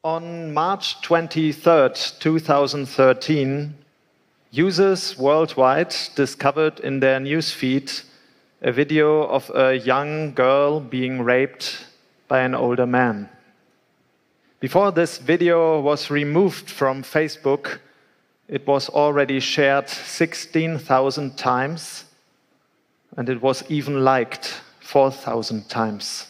On March 23rd, 2013, users worldwide discovered in their newsfeed a video of a young girl being raped by an older man. Before this video was removed from Facebook, it was already shared 16,000 times, and it was even liked 4,000 times.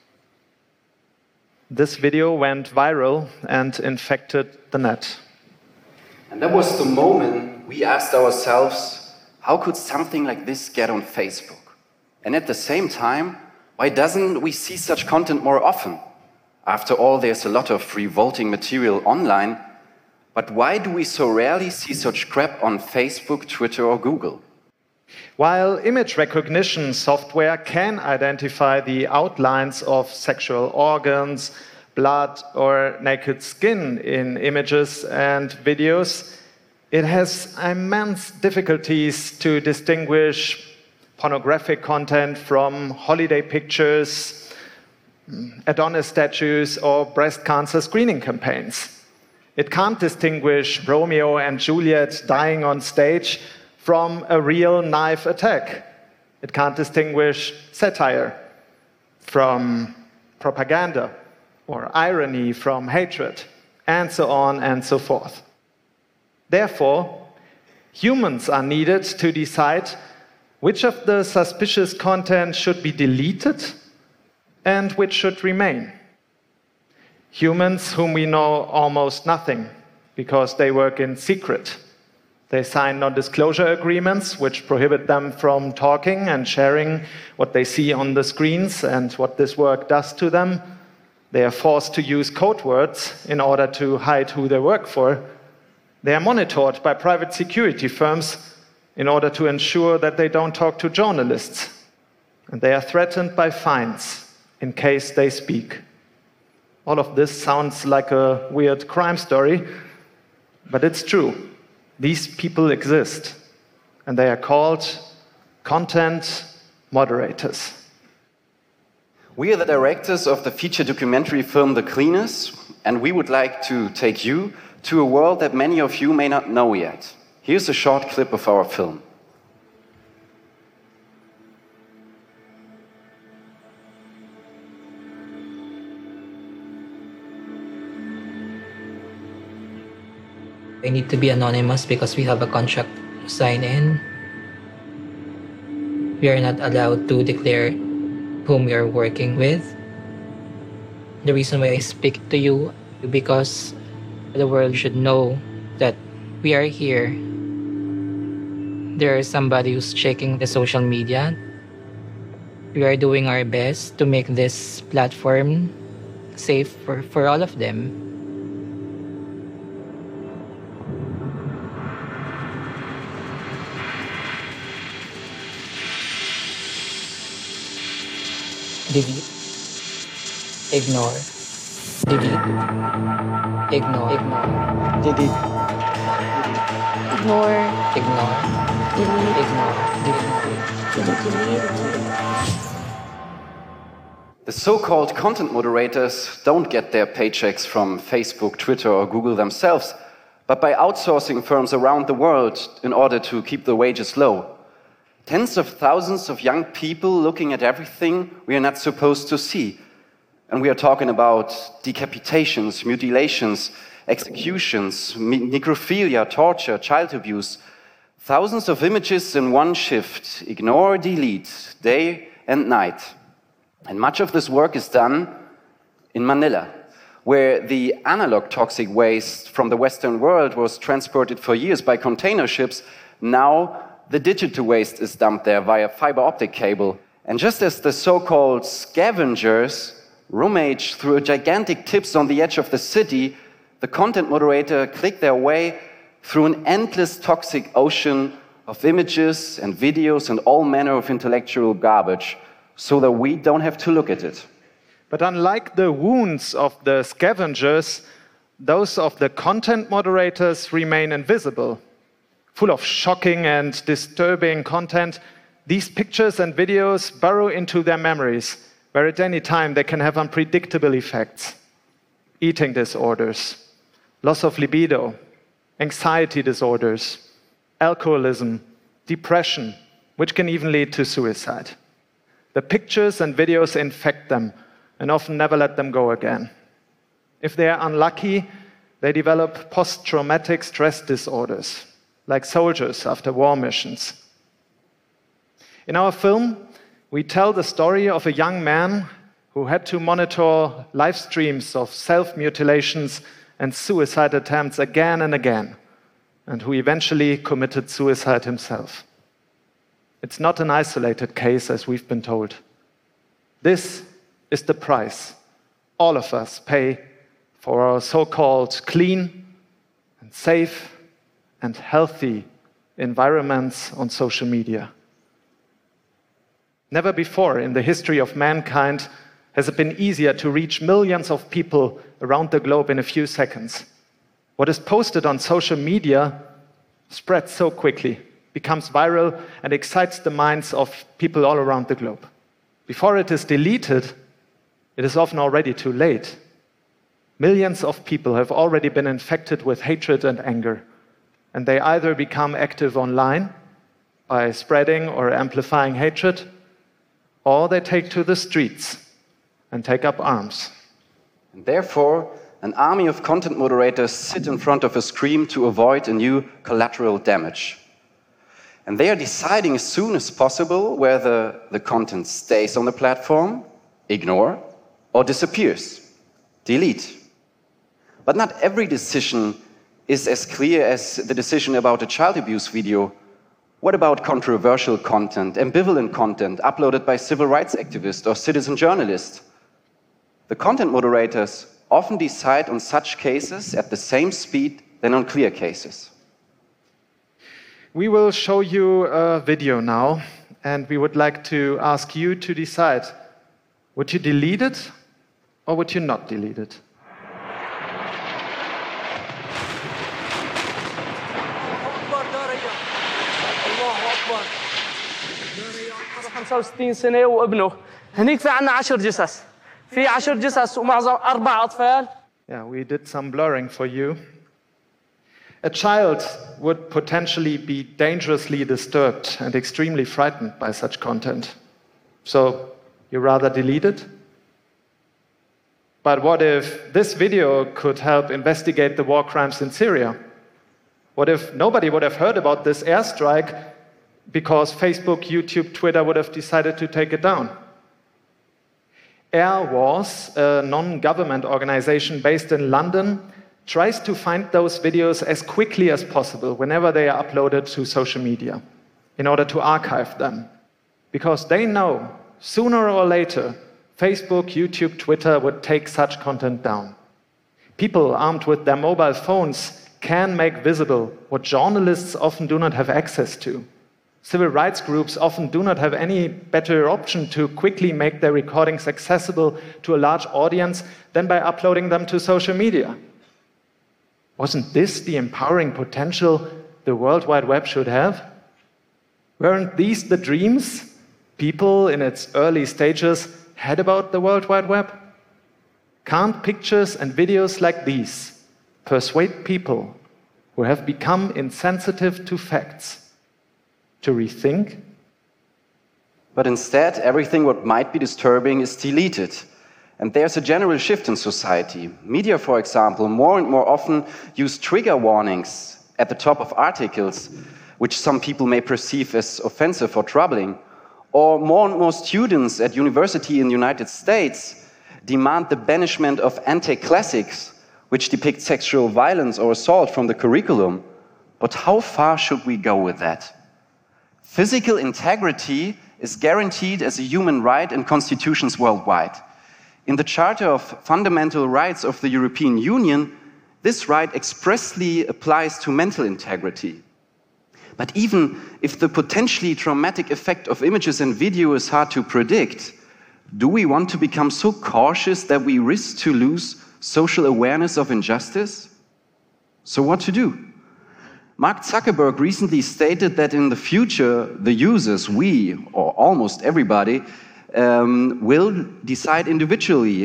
This video went viral and infected the net. And that was the moment we asked ourselves, how could something like this get on Facebook? And at the same time, why doesn't we see such content more often? After all, there's a lot of revolting material online, but why do we so rarely see such crap on Facebook, Twitter or Google? While image recognition software can identify the outlines of sexual organs, blood, or naked skin in images and videos, it has immense difficulties to distinguish pornographic content from holiday pictures, Adonis statues, or breast cancer screening campaigns. It can't distinguish Romeo and Juliet dying on stage from a real knife attack. It can't distinguish satire from propaganda, or irony from hatred, and so on and so forth. Therefore, humans are needed to decide which of the suspicious content should be deleted and which should remain. Humans whom we know almost nothing because they work in secret. They sign non-disclosure agreements which prohibit them from talking and sharing what they see on the screens and what this work does to them. They are forced to use code words in order to hide who they work for. They are monitored by private security firms in order to ensure that they don't talk to journalists. And they are threatened by fines in case they speak. All of this sounds like a weird crime story, but it's true. These people exist, and they are called content moderators. We are the directors of the feature documentary film The Cleaners, and we would like to take you to a world that many of you may not know yet. Here's a short clip of our film. I need to be anonymous because we have a contract to sign in. We are not allowed to declare whom we are working with. The reason why I speak to you because the world should know that we are here. There is somebody who's checking the social media. We are doing our best to make this platform safe for all of them. Delete. Ignore. Delete. Ignore. Delete. Ignore. Ignore. Delete. Ignore. Delete. The so-called content moderators don't get their paychecks from Facebook, Twitter or Google themselves, but by outsourcing firms around the world in order to keep the wages low. Tens of thousands of young people looking at everything we are not supposed to see. And we are talking about decapitations, mutilations, executions, necrophilia, torture, child abuse. Thousands of images in one shift, ignore, delete, day and night. And much of this work is done in Manila, where the analog toxic waste from the Western world was transported for years by container ships. Now the digital waste is dumped there via fiber optic cable. And just as the so-called scavengers rummage through gigantic tips on the edge of the city, the content moderator click their way through an endless toxic ocean of images and videos and all manner of intellectual garbage, so that we don't have to look at it. But unlike the wounds of the scavengers, those of the content moderators remain invisible. Full of shocking and disturbing content, these pictures and videos burrow into their memories, where at any time they can have unpredictable effects. eating disorders, loss of libido, anxiety disorders, alcoholism, depression, which can even lead to suicide. The pictures and videos infect them and often never let them go again. If they are unlucky, they develop post-traumatic stress disorders, like soldiers after war missions. In our film, we tell the story of a young man who had to monitor live streams of self-mutilations and suicide attempts again and again, and who eventually committed suicide himself. It's not an isolated case, as we've been told. This is the price all of us pay for our so-called clean and safe and healthy environments on social media. Never before in the history of mankind has it been easier to reach millions of people around the globe in a few seconds. What is posted on social media spreads so quickly, becomes viral, and excites the minds of people all around the globe. Before it is deleted, it is often already too late. Millions of people have already been infected with hatred and anger, and they either become active online by spreading or amplifying hatred, or they take to the streets and take up arms. And therefore, an army of content moderators sit in front of a screen to avoid a new collateral damage. And they are deciding as soon as possible whether the content stays on the platform, ignore, or disappears, delete. But not every decision is as clear as the decision about a child abuse video. What about controversial content, ambivalent content uploaded by civil rights activists or citizen journalists? The content moderators often decide on such cases at the same speed than on clear cases. We will show you a video now, and we would like to ask you to decide, would you delete it or would you not delete it? سنة وابنه هنيك في عنا 10 جثث في 10 جثث ومعظم 4 أطفال. Yeah, we did some blurring for you. A child would potentially be dangerously disturbed and extremely frightened by such content. So you rather delete it? But what if this video could help investigate the war crimes in Syria? What if nobody would have heard about this airstrike because Facebook, YouTube, Twitter would have decided to take it down? Air Wars, a non-government organization based in London, tries to find those videos as quickly as possible whenever they are uploaded to social media in order to archive them. Because they know sooner or later Facebook, YouTube, Twitter would take such content down. People armed with their mobile phones can make visible what journalists often do not have access to. Civil rights groups often do not have any better option to quickly make their recordings accessible to a large audience than by uploading them to social media. Wasn't this the empowering potential the World Wide Web should have? Weren't these the dreams people in its early stages had about the World Wide Web? Can't pictures and videos like these persuade people who have become insensitive to facts to rethink? But instead, everything what might be disturbing is deleted. And there's a general shift in society. Media, for example, more and more often use trigger warnings at the top of articles, which some people may perceive as offensive or troubling. Or more and more students at university in the United States demand the banishment of anti-classics, which depict sexual violence or assault from the curriculum. But how far should we go with that? Physical integrity is guaranteed as a human right in constitutions worldwide. In the Charter of Fundamental Rights of the European Union, this right expressly applies to mental integrity. But even if the potentially traumatic effect of images and video is hard to predict, do we want to become so cautious that we risk to lose social awareness of injustice? So what to do? Mark Zuckerberg recently stated that in the future, the users, we, or almost everybody, will decide individually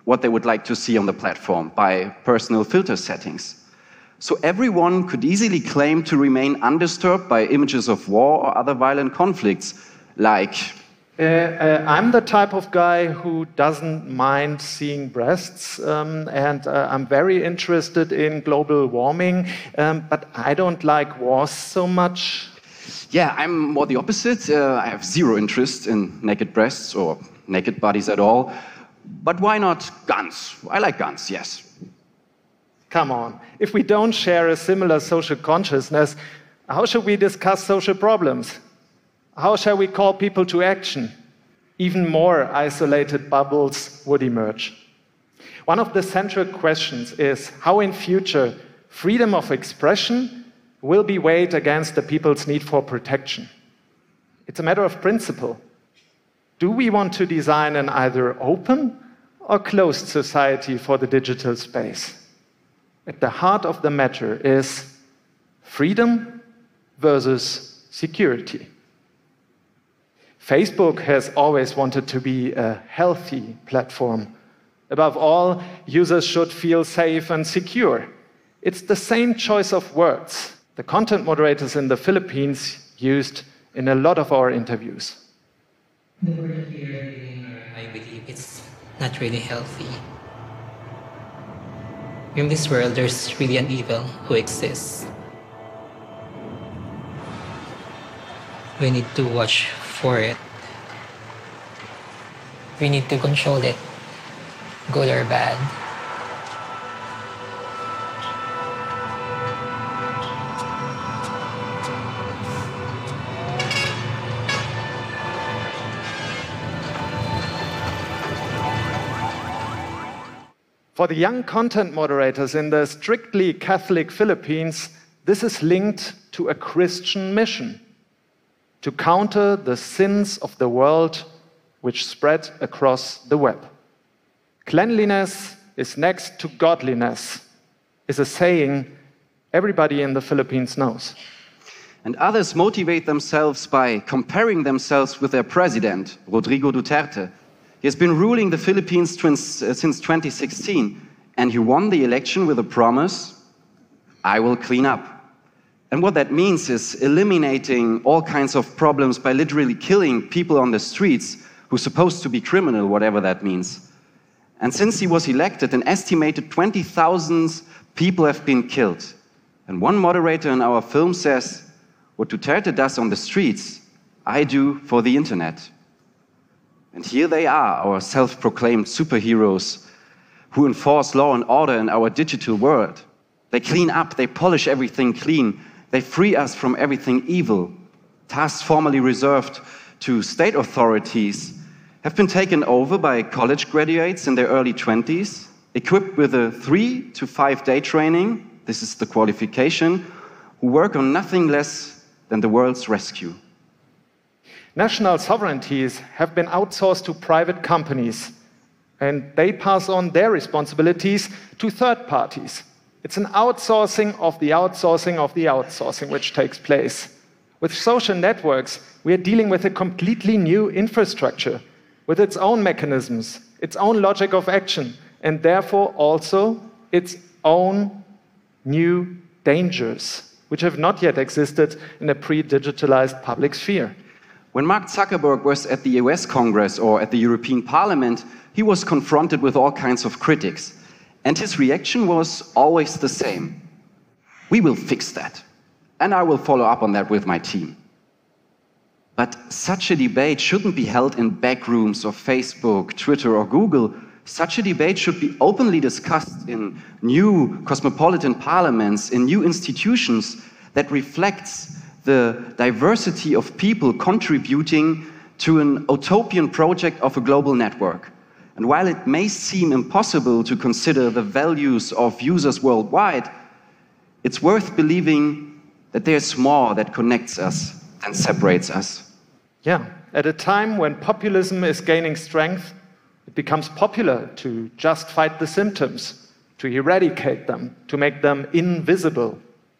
what they would like to see on the platform by personal filter settings. So everyone could easily claim to remain undisturbed by images of war or other violent conflicts, like... I'm the type of guy who doesn't mind seeing breasts, and I'm very interested in global warming, but I don't like wars so much. Yeah, I'm more the opposite. I have zero interest in naked breasts or naked bodies at all. But why not guns? I like guns, yes. Come on, if we don't share a similar social consciousness, how should we discuss social problems? How shall we call people to action? Even more isolated bubbles would emerge. One of the central questions is how in future freedom of expression will be weighed against the people's need for protection. It's a matter of principle. Do we want to design an either open or closed society for the digital space? At the heart of the matter is freedom versus security. Facebook has always wanted to be a healthy platform. Above all, users should feel safe and secure. It's the same choice of words the content moderators in the Philippines used in a lot of our interviews. The word here, I believe it's not really healthy. In this world, there's really an evil who exists. We need to watch for it. We need to control it, good or bad. For the young content moderators in the strictly Catholic Philippines, this is linked to a Christian mission: to counter the sins of the world which spread across the web. Cleanliness is next to godliness, is a saying everybody in the Philippines knows. And others motivate themselves by comparing themselves with their president, Rodrigo Duterte. He has been ruling the Philippines since 2016, and he won the election with a promise: I will clean up. And what that means is eliminating all kinds of problems by literally killing people on the streets who's supposed to be criminal, whatever that means. And since he was elected, an estimated 20,000 people have been killed. And one moderator in our film says, what Duterte does on the streets, I do for the internet. And here they are, our self-proclaimed superheroes who enforce law and order in our digital world. They clean up, they polish everything clean, they free us from everything evil. Tasks formerly reserved to state authorities have been taken over by college graduates in their early 20s, equipped with a 3 to 5 day training, this is the qualification, who work on nothing less than the world's rescue. National sovereignties have been outsourced to private companies, and they pass on their responsibilities to third parties. It's an outsourcing of the outsourcing of the outsourcing which takes place. With social networks, we are dealing with a completely new infrastructure, with its own mechanisms, its own logic of action, and therefore also its own new dangers, which have not yet existed in a pre-digitalized public sphere. When Mark Zuckerberg was at the US Congress or at the European Parliament, he was confronted with all kinds of critics. And his reaction was always the same. We will fix that. And I will follow up on that with my team. But such a debate shouldn't be held in back rooms of Facebook, Twitter, or Google. Such a debate should be openly discussed in new cosmopolitan parliaments, in new institutions that reflects the diversity of people contributing to an utopian project of a global network. And while it may seem impossible to consider the values of users worldwide, it's worth believing that there's more that connects us than separates us. Yeah, at a time when populism is gaining strength, it becomes popular to just fight the symptoms, to eradicate them, to make them invisible.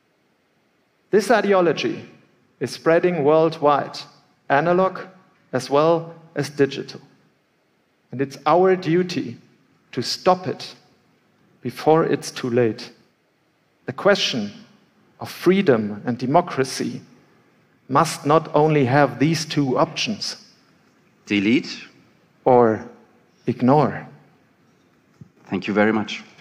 This ideology is spreading worldwide, analog as well as digital. And it's our duty to stop it before it's too late. The question of freedom and democracy must not only have these two options. Delete or ignore. Thank you very much.